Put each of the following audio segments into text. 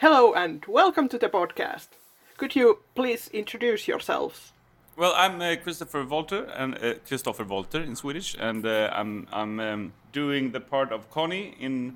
Hello and welcome to the podcast. Could you please introduce yourselves? Well, I'm Christopher Wolter, and Christopher Wolter in Swedish, and I'm doing the part of Connie in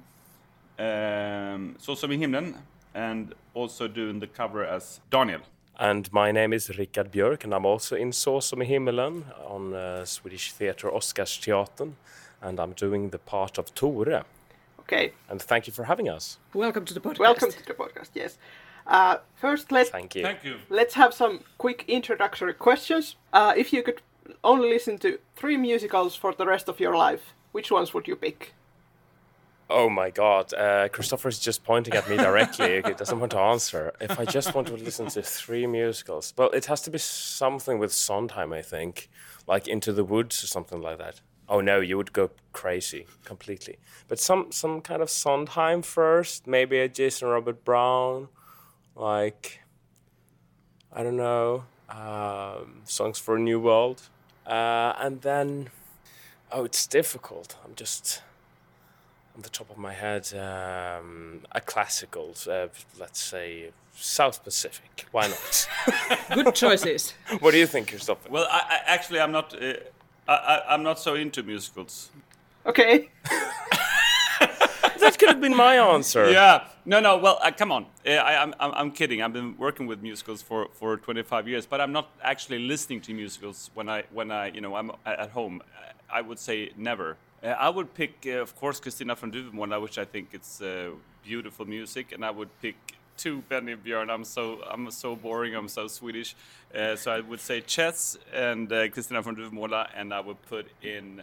Så som i himlen, and also doing the cover as Daniel. And my name is Rickard Björk, and I'm also in Så som i himmelen on Swedish Theatre Oscarsteatern, and I'm doing the part of Tore. Okay. And thank you for having us. Welcome to the podcast. Welcome to the podcast. Yes. First, Thank you. Thank you. let's have some quick introductory questions. If you could only listen to 3 musicals for the rest of your life, which ones would you pick? Oh my God, Christopher is just pointing at me directly. He doesn't want to answer. If I just want to listen to 3 musicals, well, it has to be something with Sondheim, I think, like Into the Woods or something like that. Oh no, you would go crazy completely. But some kind of Sondheim first, maybe a Jason Robert Brown, like, I don't know, Songs for a New World. And then, it's difficult. I'm just, on the top of my head, a classical, let's say South Pacific. Why not? Good choices. What do you think, Christopher? Well, I'm not. I'm not so into musicals. Okay. That could have been my answer. Yeah. No. Well, come on. I'm kidding. I've been working with musicals for 25 years, but I'm not actually listening to musicals when I I'm at home. I would say never. I would pick, of course, Kristina från Duvemåla, which I think it's beautiful music, and I would pick 2 Benny Björn. I'm so boring. I'm so Swedish. So I would say Chess and Kristina från Duvemåla, and I would put in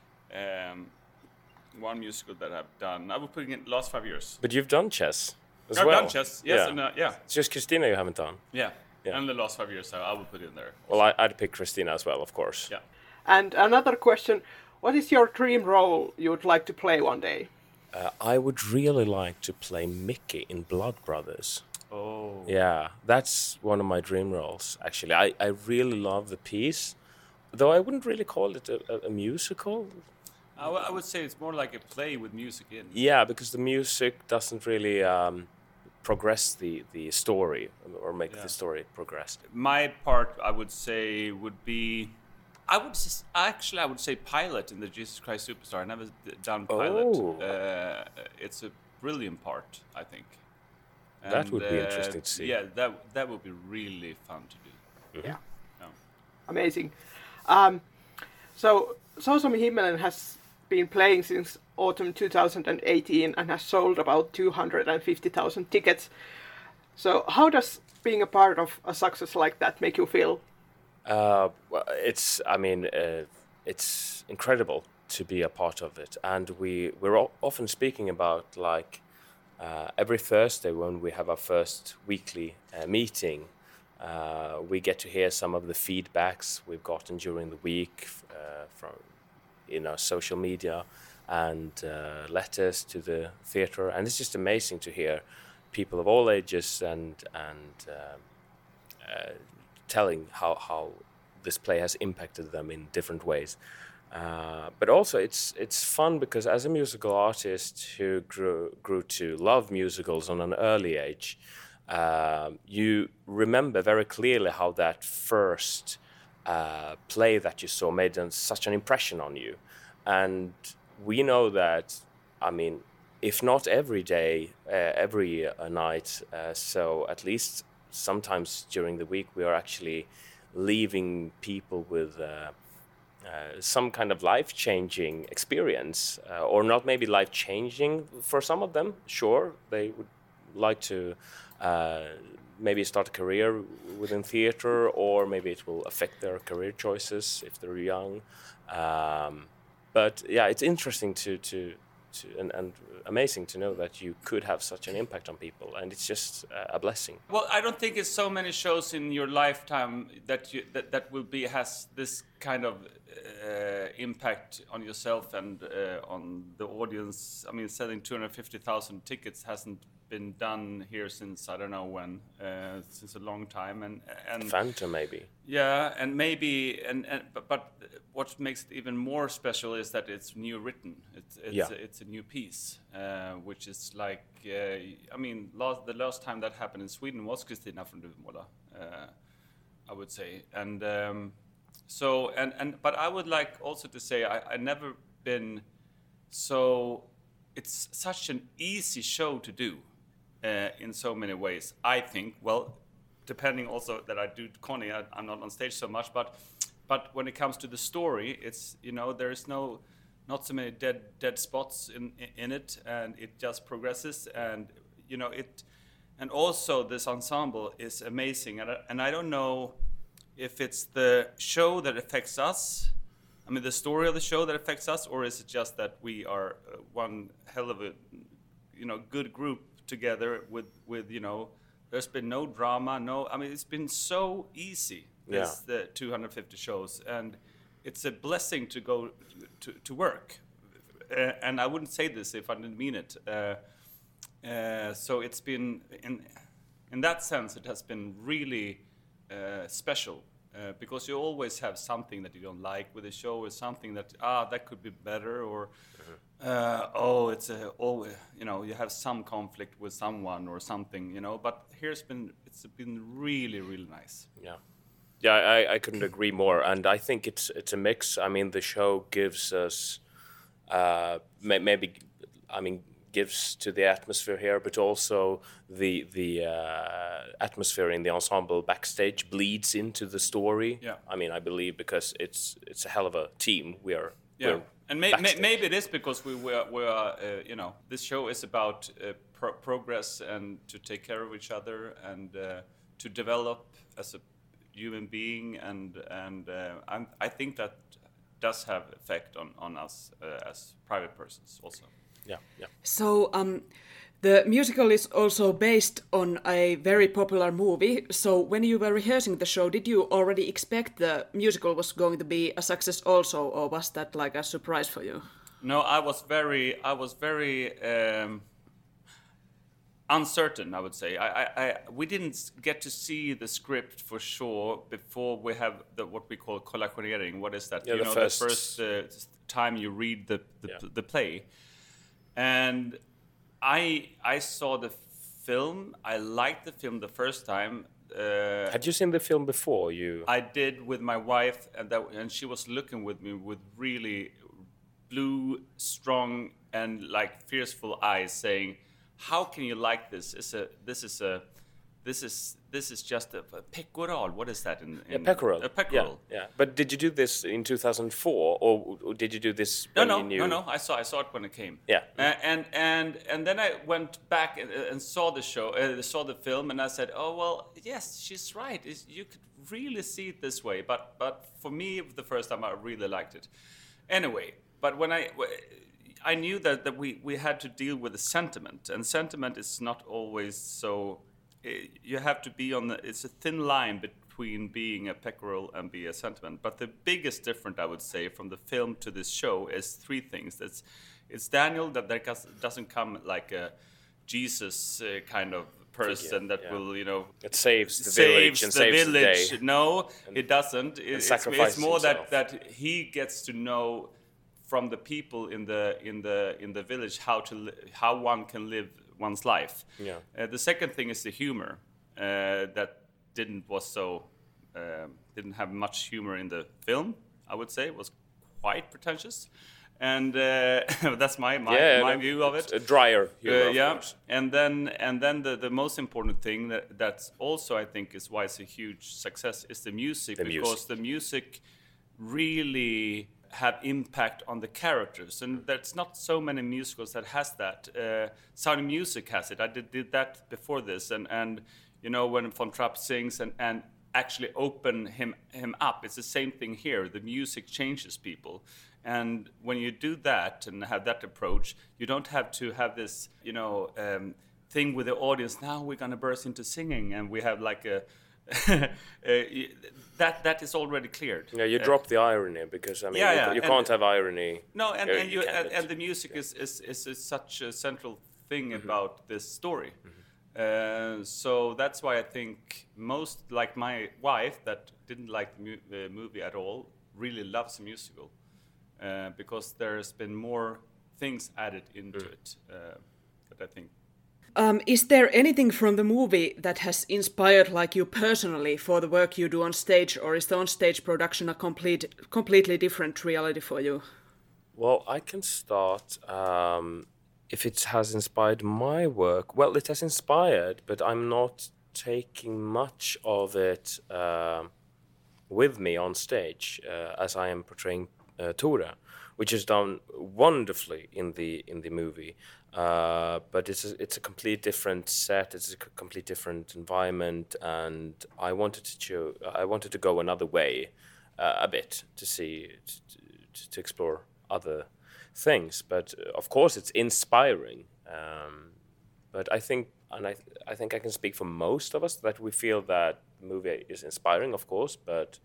one musical that I've done. I would put in last 5 years. But you've done Chess as I've well. done Chess, yes, Yeah. and yeah. It's just Christina you haven't done. Yeah. Yeah. And the last 5 years, so I would put it in there. Well, I'd pick Christina as well, of course. Yeah. And another question, what is your dream role you would like to play one day? I would really like to play Mickey in Blood Brothers. Oh. Yeah, that's one of my dream roles, actually. I really love the piece, though I wouldn't really call it a musical. I would say it's more like a play with music in. Yeah, because the music doesn't really progress the story or make the story progress. My part, I would say, would be. I would say pilot in the Jesus Christ Superstar. I never done pilot. Oh. It's a brilliant part, I think. That would be interesting to see. Yeah, that would be really fun to do. Yeah. Yeah. Amazing. So, Så som i himmelen has been playing since autumn 2018 and has sold about 250,000 tickets. So, how does being a part of a success like that make you feel? Well, it's incredible to be a part of it, and we're often speaking about like every Thursday when we have our first weekly meeting, we get to hear some of the feedbacks we've gotten during the week from social media and letters to the theatre, and it's just amazing to hear people of all ages and telling how this play has impacted them in different ways. But also it's fun because as a musical artist who grew to love musicals on an early age, you remember very clearly how that first play that you saw made such an impression on you. And we know that, if not every day, every night, so at least sometimes during the week, we are actually leaving people with some kind of life-changing experience, or not maybe life-changing for some of them. Sure, they would like to maybe start a career within theatre, or maybe it will affect their career choices if they're young. But yeah, it's interesting and amazing to know that you could have such an impact on people, and it's just a blessing. Well, I don't think it's so many shows in your lifetime that will has this kind of impact on yourself and on the audience. I mean, selling 250,000 tickets hasn't been done here since I don't know when, since a long time, and Phantom maybe. yeah, and maybe but what makes it even more special is that it's new written. It's a new piece, which is like I mean, the last time that happened in Sweden was Kristina från Duvemåla, I would say, and so but I would like also to say I never been so. It's such an easy show to do. In so many ways, I think. Well, depending also that I do Connie, I'm not on stage so much, but when it comes to the story, it's there is not so many dead spots in it, and it just progresses, and it, and also this ensemble is amazing, and I don't know if it's the show that affects us. I mean, the story of the show that affects us, or is it just that we are one hell of a good group together with there's been no drama, I mean it's been so easy, the 250 shows, and it's a blessing to go to work, and I wouldn't say this if I didn't mean it, so it's been in that sense it has been really special, because you always have something that you don't like with the show, or something that could be better, or you have some conflict with someone or something, but it's been really, really nice. I couldn't agree more, and I think it's a mix. I mean, the show gives us gives to the atmosphere here, but also the atmosphere in the ensemble backstage bleeds into the story. I mean, I believe because it's a hell of a team. We're and maybe it is because we are this show is about progress and to take care of each other and to develop as a human being, and I think that does have effect on us as private persons also. Yeah. So the musical is also based on a very popular movie. So when you were rehearsing the show, did you already expect the musical was going to be a success also, or was that like a surprise for you? No, I was very uncertain, I would say. We didn't get to see the script for sure before we have what we call kollationering. What is that? Yeah, the first time you read the play. And I saw the film. I liked the film the first time. Had you seen the film before? I did with my wife, and she was looking with me with really blue, strong, and like fearful eyes, saying, "How can you like this? This is just a pecoral. What is that in pecoral? A pecoral. Yeah. But did you do this in 2004, or did you do this when you knew? No. I saw it when it came. Yeah. And then I went back and saw the show, saw the film, and I said, "Oh well, yes, she's right. You could really see it this way." But for me, the first time, I really liked it. Anyway, but when I knew that we had to deal with the sentiment, and sentiment is not always so. You have to be it's a thin line between being a pecoral and be a sentiment. But the biggest difference, I would say, from the film to this show is three things. It's Daniel, that there doesn't come like a Jesus kind of person that will, it saves the village and saves the day. No, it doesn't. It's more that he gets to know from the people in the village how one can live one's life. The second thing is the humor that didn't have much humor in the film. I would say it was quite pretentious, and that's my view of it. A drier humor, of course. And then the most important thing that's also I think is why it's a huge success is the music, because the music really have impact on the characters, and there's not so many musicals that has that. Sound of Music has it. I did that before this, and when Von Trapp sings and actually open him up, it's the same thing here. The music changes people, and when you do that and have that approach, you don't have to have this thing with the audience. Now we're gonna burst into singing, and we have like that is already cleared. Yeah, you drop the irony because I mean you can't have irony. No, and the music is such a central thing about this story. So that's why I think most, like my wife that didn't like the movie at all, really loves the musical because there's been more things added into it. But I think. Is there anything from the movie that has inspired like you personally for the work you do on stage, or is the on-stage production a completely different reality for you? Well, I can start. If it has inspired my work, well, it has inspired, but I'm not taking much of it with me on stage as I am portraying Tora, which is done wonderfully in the movie. But it's a complete different set. It's a complete different environment, and I wanted to go another way a bit to explore other things. But of course, it's inspiring. But I think I can speak for most of us that we feel that the movie is inspiring, of course, but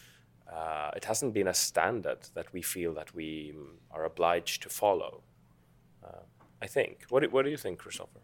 it hasn't been a standard that we feel that we are obliged to follow. I think. What do you think, Christopher?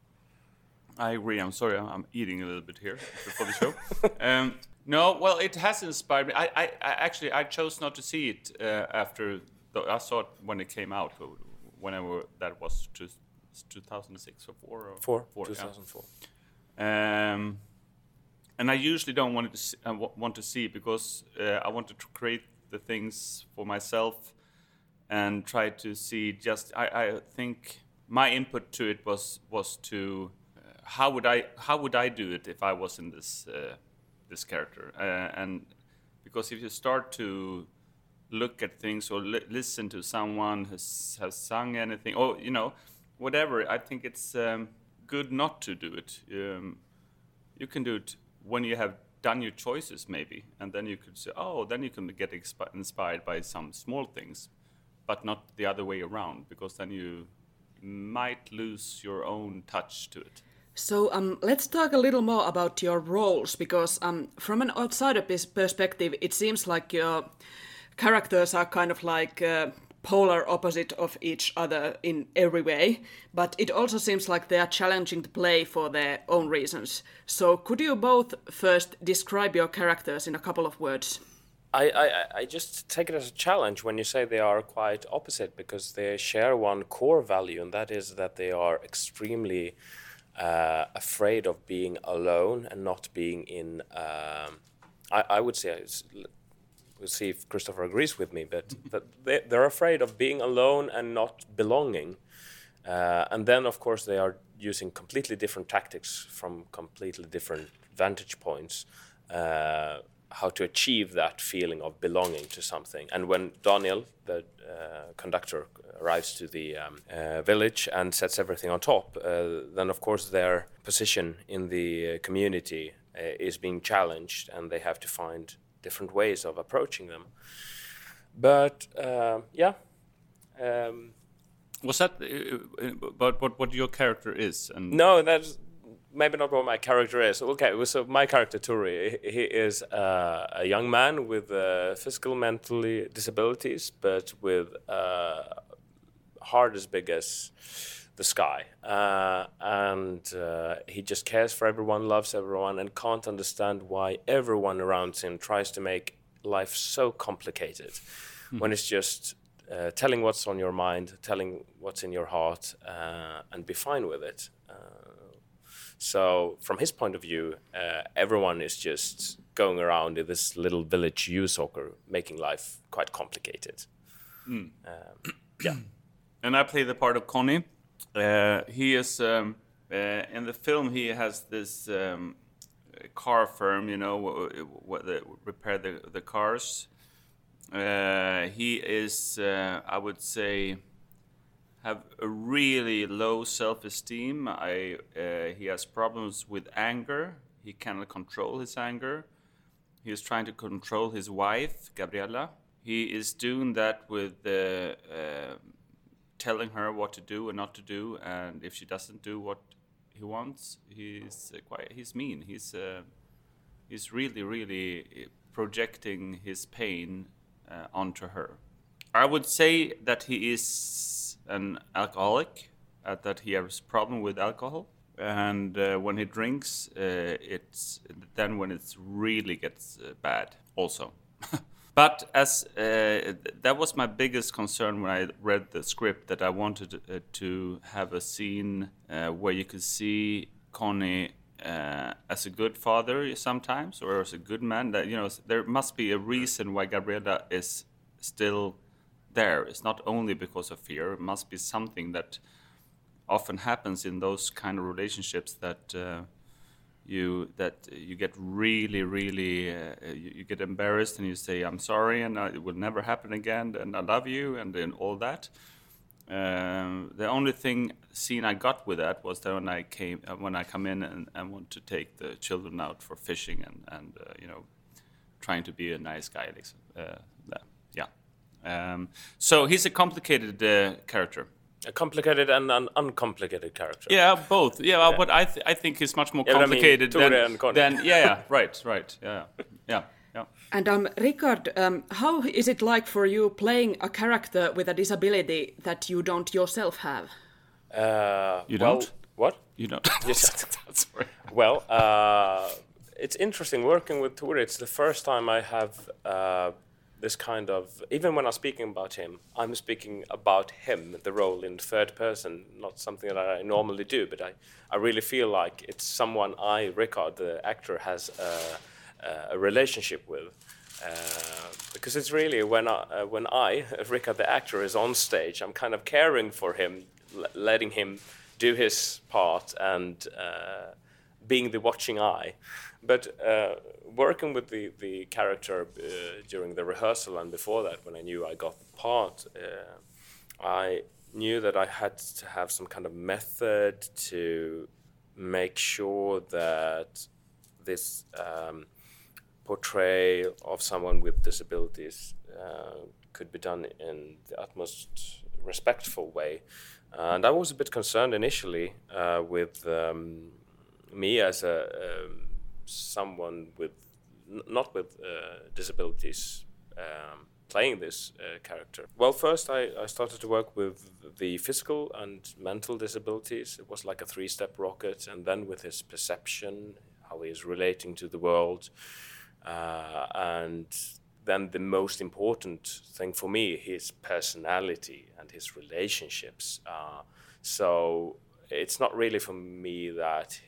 I agree. I'm sorry, I'm eating a little bit here before the show. No, well, it has inspired me. I actually chose not to see it after. I saw it when it came out. Whenever that was, 2006 or 4. 2004. Yeah. And I usually don't want to see it because I wanted to create the things for myself and try to see. Just I think my input to it was to how would I do it if I was in this character, and because if you start to look at things or listen to someone who has sung anything or whatever, I think it's good not to do it. You can do it when you have done your choices maybe, and then you could say, then you can get inspired by some small things, but not the other way around, because then you might lose your own touch to it. So let's talk a little more about your roles, because from an outsider perspective, it seems like your characters are kind of like polar opposite of each other in every way, but it also seems like they are challenging to play for their own reasons. So could you both first describe your characters in a couple of words? I just take it as a challenge when you say they are quite opposite, because they share one core value, and that is that they are extremely afraid of being alone and not being in. I would say, we'll see if Christopher agrees with me, but they're afraid of being alone and not belonging. And then, of course, they are using completely different tactics from completely different vantage points. How to achieve that feeling of belonging to something. And when Daniel, the conductor, arrives to the village and sets everything on top, then of course their position in the community is being challenged, and they have to find different ways of approaching them. But Was that about what your character is? And no, that's maybe not what my character is. Okay, so my character, Turi, he is a young man with physical, mentally disabilities, but with heart as big as the sky. And he just cares for everyone, loves everyone, and can't understand why everyone around him tries to make life so complicated when it's just telling what's on your mind, telling what's in your heart, and be fine with it. So from his point of view, everyone is just going around in this little village soccer, making life quite complicated. Yeah. And I play the part of Conny. He is, in the film, he has this car firm, where they repair the cars. He is, I would say, have a really low self-esteem. He has problems with anger. He cannot control his anger. He is trying to control his wife, Gabriella. He is doing that with telling her what to do and not to do, and if she doesn't do what he wants, he's mean. He's really, really projecting his pain onto her. I would say that he is an alcoholic, that he has a problem with alcohol. And when he drinks, it's then when it really gets bad also. But as that was my biggest concern when I read the script, that I wanted to have a scene where you could see Conny as a good father sometimes, or as a good man. That, you know, there must be a reason why Gabriella is still there. It's not only because of fear. It must be something that often happens in those kind of relationships, that you get really, really you get embarrassed and you say, I'm sorry, and it will never happen again, and I love you, and then all that. The only scene I got with that was that when I come in and want to take the children out for fishing and you know, trying to be a nice guy. So he's a complicated character. A complicated and an uncomplicated character. Yeah, both. Yeah, but I think he's much more complicated than right. Yeah. And Rickard, how is it like for you playing a character with a disability that you don't yourself have? You don't? What? You don't? Yes. That's right. Well, it's interesting working with Tore. It's the first time I have this kind of, even when I'm speaking about him, I'm speaking about him, the role in third person, not something that I normally do, but I really feel like it's someone Rickard, the actor, has a relationship with. Because it's really when Rickard, the actor, is on stage, I'm kind of caring for him, letting him do his part and being the watching eye. But working with the character during the rehearsal and before that, when I knew I got the part, I knew that I had to have some kind of method to make sure that this portrayal of someone with disabilities could be done in the utmost respectful way. And I was a bit concerned initially with me as someone with not with disabilities playing this character. Well, first I started to work with the physical and mental disabilities. It was like a 3-step rocket, and then with his perception, how he is relating to the world, and then the most important thing for me, his personality and his relationships. So it's not really for me that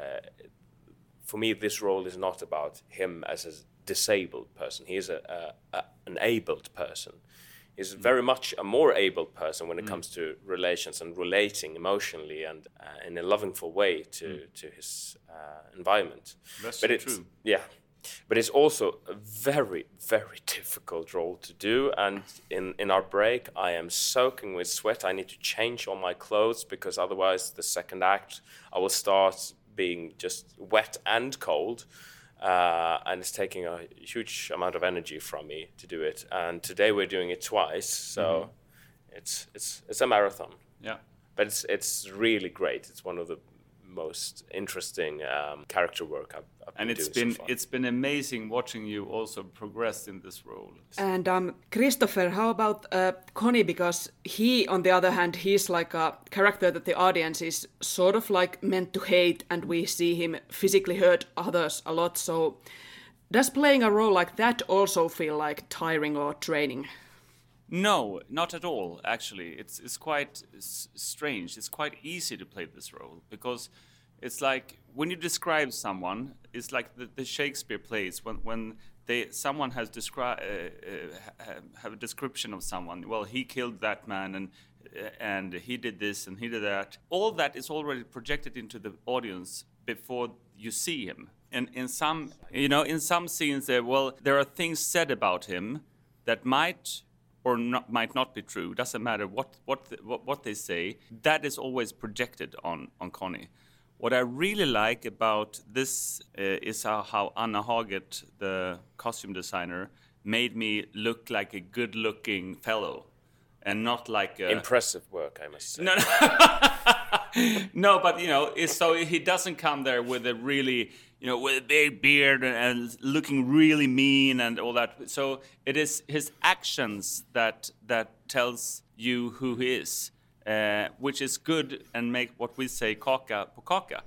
for me, this role is not about him as a disabled person. He is an abled person. He's very much a more abled person when it comes to relations and relating emotionally and in a lovingful way to his environment. That's true. Yeah. But it's also a very, very difficult role to do. And in our break, I am soaking with sweat. I need to change all my clothes because otherwise the second act, I will start being just wet and cold. And it's taking a huge amount of energy from me to do it. And today we're doing it twice. So it's a marathon. Yeah. But it's really great. It's one of the most interesting character work I've been doing so far. It's been amazing watching you also progress in this role. And Christopher, how about Conny? Because he, on the other hand, he's like a character that the audience is sort of like meant to hate, and we see him physically hurt others a lot. So does playing a role like that also feel like tiring or draining? No, not at all, actually. It's quite strange. It's quite easy to play this role because it's like when you describe someone, it's like the Shakespeare plays when someone has have a description of someone. Well, he killed that man and he did this and he did that. All that is already projected into the audience before you see him. And in some scenes there are things said about him that might not be true. Doesn't matter what they say. That is always projected on Conny. What I really like about this is how Anna Haget, the costume designer, made me look like a good-looking fellow, and not like impressive work, I must say. No, but so he doesn't come there with a really with a big beard and looking really mean and all that. So it is his actions that tells you who he is, which is good and make what we say kaka på kaka.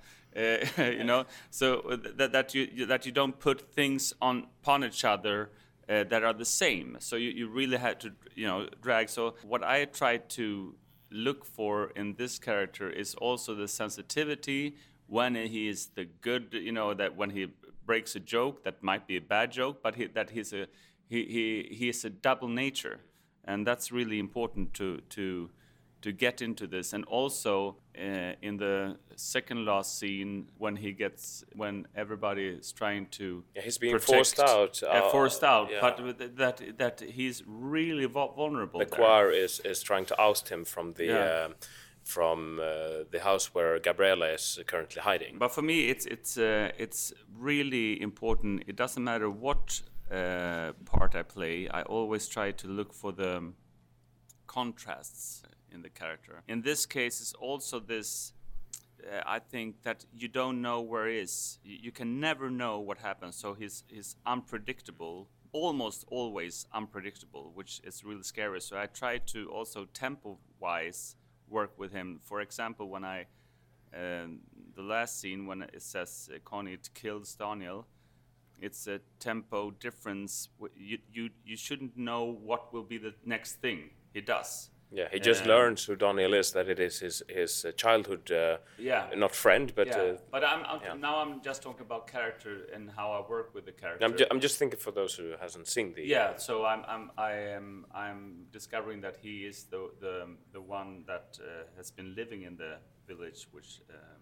So that you don't put things upon each other that are the same. So you really had to drag. So what I tried to look for in this character is also the sensitivity when he is the good, that when he breaks a joke that might be a bad joke, but he is a double nature, and that's really important to get into this. And also in the second last scene when everybody is trying to he's being protect, forced out, but that he's really vulnerable. The choir is trying to oust him from the the house where Gabriella is currently hiding. But for me, it's really important. It doesn't matter what part I play. I always try to look for the contrasts in the character. In this case, it's also this. I think that you don't know where he is. You can never know what happens. So he's unpredictable, almost always unpredictable, which is really scary. So I try to also tempo-wise work with him. For example, when the last scene when it says Connie kills Daniel, it's a tempo difference. You shouldn't know what will be the next thing he does. Yeah, he just learns who Daniel is, that it is his childhood, not friend, but... but now I'm just talking about character and how I work with the character. I'm just thinking for those who hasn't seen the... So I'm discovering that he is the one that has been living in the village, which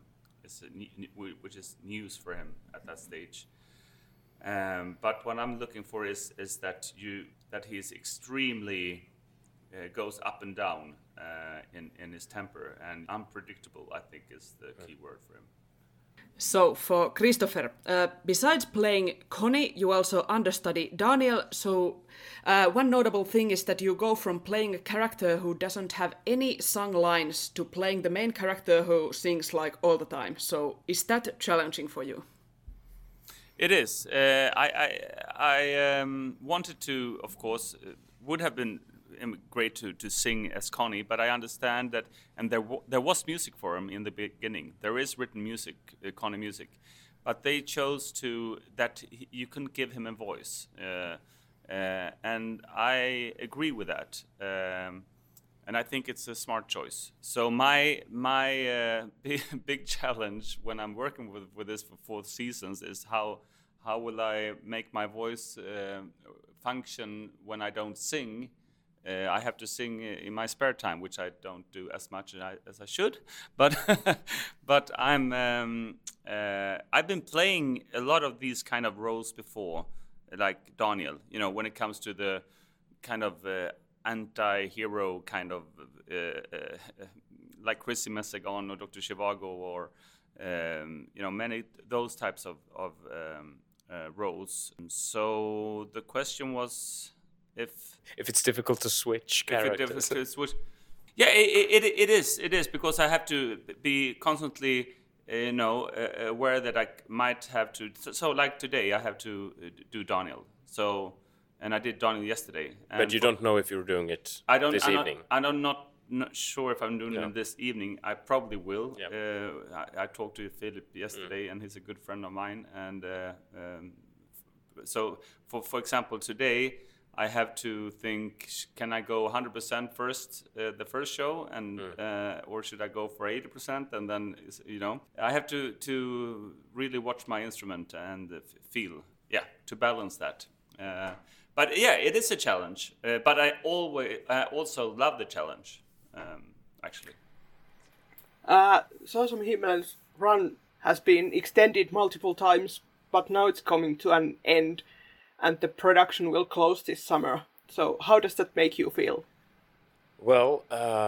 is news for him at that stage. But what I'm looking for is that he is extremely... goes up and down in his temper, and unpredictable, I think, is the key word for him. So for Christopher, besides playing Connie, you also understudy Daniel. So one notable thing is that you go from playing a character who doesn't have any sung lines to playing the main character who sings like all the time. So is that challenging for you? It is. I wanted to, of course, would have been great to sing as Connie, but I understand that, and there was music for him in the beginning. There is written music, Connie music, but they chose that you couldn't give him a voice, and I agree with that, and I think it's a smart choice. So my big challenge when I'm working with this for 4 seasons is how will I make my voice function when I don't sing. I have to sing in my spare time, which I don't do as much as I should. But but I've been playing a lot of these kind of roles before, like Daniel. When it comes to the kind of anti-hero kind of like Chrissy Messegon or Dr. Zhivago or many those types of roles. So the question was. If it's difficult to switch characters. Yeah, it is because I have to be constantly, aware that I might have to. So like today, I have to do Daniel. So, and I did Daniel yesterday. But you don't know if you're doing it this evening. I'm not sure if I'm doing it this evening. I probably will. Yeah. I talked to Philip yesterday, and he's a good friend of mine. And so, for example, today. I have to think: can I go 100% first, the first show, and or should I go for 80%? And then I have to really watch my instrument and feel, to balance that. But it is a challenge. But I also love the challenge, actually. Saasom Himmelen's run has been extended multiple times, but now it's coming to an end. And the production will close this summer. So how does that make you feel? Well,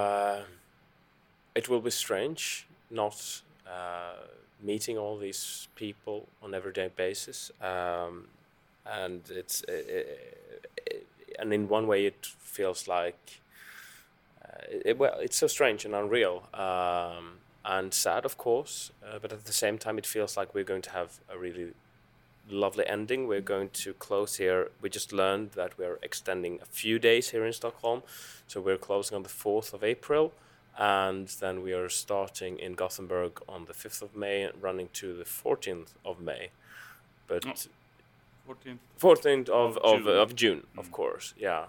it will be strange not meeting all these people on everyday basis, and and in one way it feels like it's so strange and unreal. and sad, of course, but at the same time, it feels like we're going to have a really lovely ending. We're going to close here. We just learned that we're extending a few days here in Stockholm, so we're closing on the 4th of April, and then we are starting in Gothenburg on the 5th of May and running to the 14th of May. But 14th of June, of course, yeah.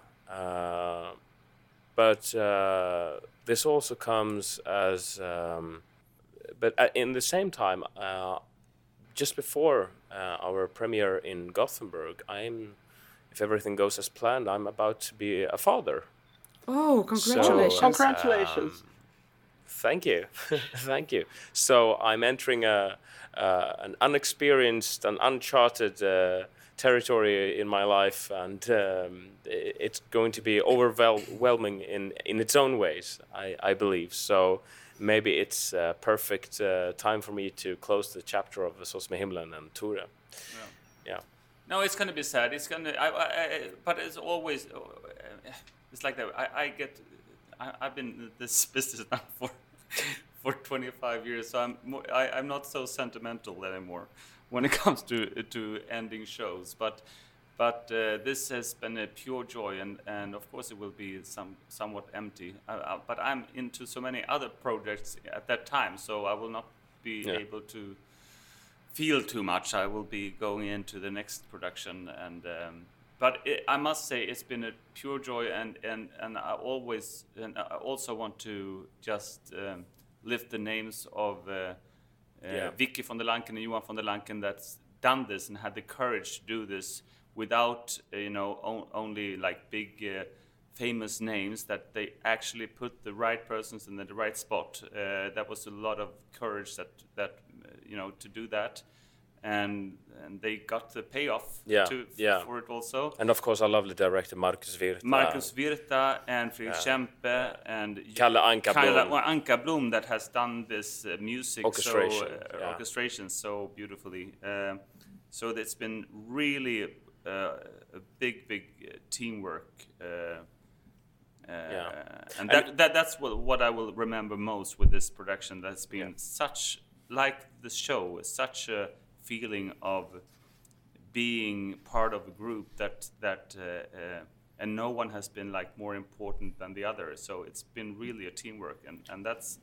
But this also comes as, but in the same time, just before our premiere in Gothenburg, if everything goes as planned, I'm about to be a father. Oh, congratulations! So, Congratulations! Thank you, thank you. So I'm entering an unexperienced and uncharted territory in my life, and it's going to be overwhelming in its own ways, I believe. So maybe it's a perfect time for me to close the chapter of Sås med himlen and Ture. Yeah. No, it's gonna be sad. It's gonna. But it's always. It's like that. I've been in this business now for 25 years, so I'm not so sentimental anymore when it comes to ending shows. But this has been a pure joy, and of course it will be somewhat empty. But I'm into so many other projects at that time, so I will not be able to feel too much. I will be going into the next production, and but I must say it's been a pure joy, and I also want to just lift the names of Vicky von der Lanken and Johan von der Lanken that's done this and had the courage to do this without only like big famous names, that they actually put the right persons in the right spot. That was a lot of courage that to do that. And they got the payoff for it also. And of course our lovely director Marcus Virta and Fredrik Kempe and Kalle Anka-Blom that has done this music orchestration so beautifully. So it's been really a big teamwork. And that's what I will remember most with this production. That's been such, like the show, such a feeling of being part of a group that and no one has been like more important than the other. So it's been really a teamwork, and that's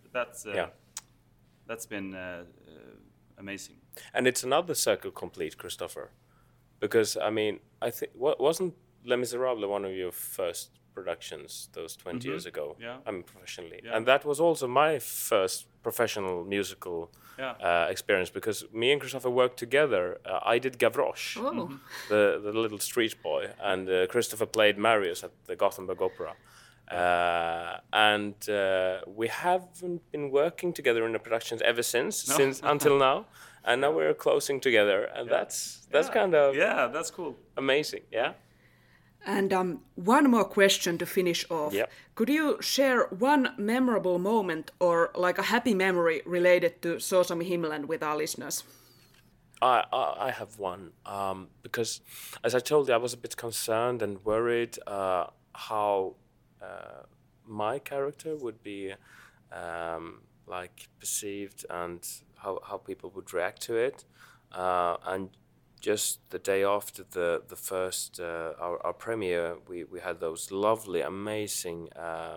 been amazing. And it's another circle complete, Christopher, because I mean I think wasn't Les Miserables one of your first productions those 20 years ago? Yeah. I mean professionally, and that was also my first professional musical experience, because me and Christopher worked together. I did Gavroche, the little street boy, and Christopher played Marius at the Gothenburg Opera. And we haven't been working together in the productions ever since until now, and now we're closing together, and that's kind of that's cool, amazing. And one more question to finish off. Yep. Could you share one memorable moment or like a happy memory related to Sås med himlen with our listeners? I have one, because as I told you, I was a bit concerned and worried how my character would be like perceived and how people would react to it, and just the day after the first our premiere, we had those lovely, amazing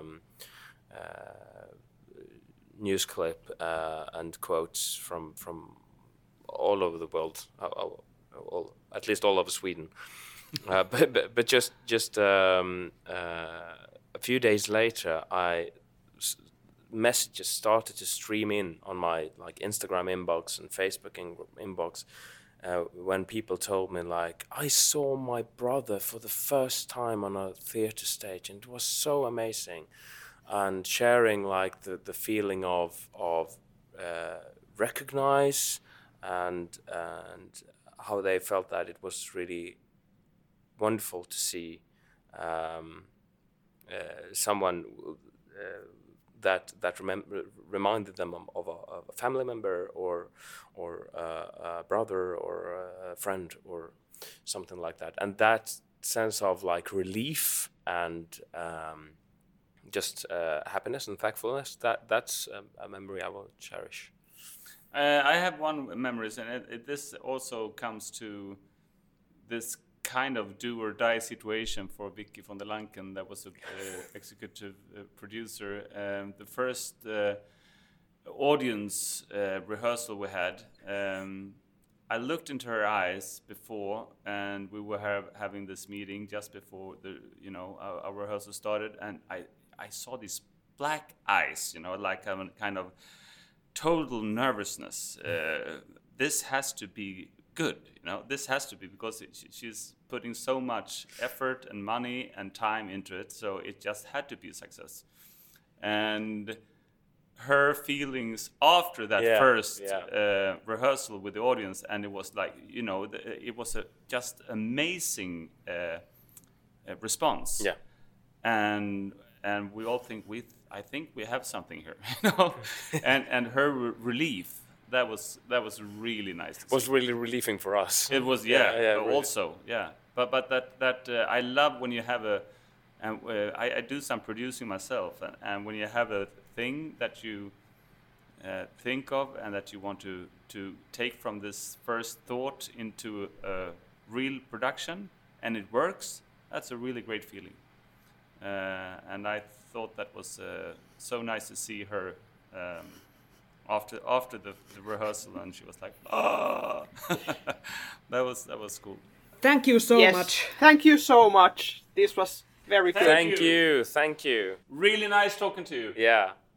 news clip and quotes from all over the world, at least all over Sweden. But just a few days later, messages started to stream in on my like Instagram inbox and Facebook inbox. When people told me like, I saw my brother for the first time on a theater stage and it was so amazing, and sharing like the feeling of recognize and how they felt that it was really wonderful to see someone that reminded them of a family member or a brother or a friend or something like that, and that sense of like relief and just happiness and thankfulness. That's a memory I will cherish. I have one memories, and this also comes to this kind of do or die situation for Vicky von der Lanken, that was an executive producer. The first audience rehearsal we had, I looked into her eyes before, and we were having this meeting just before our rehearsal started, and I saw these black eyes, like a kind of total nervousness. This has to be good, this has to be, because she's putting so much effort and money and time into it, so it just had to be a success. And her feelings after that first rehearsal with the audience, and it was like, it was a just amazing response. And we all think I think we have something here, and her relief, that was really nice. It was really relieving for us. It was, also, really. But that I love when you have I do some producing myself, and when you have a thing that you think of and that you want to take from this first thought into a real production, and it works, that's a really great feeling. And I thought that was so nice to see her after the rehearsal, and she was like, "Ah!" that was cool. Thank you so much. Thank you so much. This was very good. Thank you. Really nice talking to you. Yeah.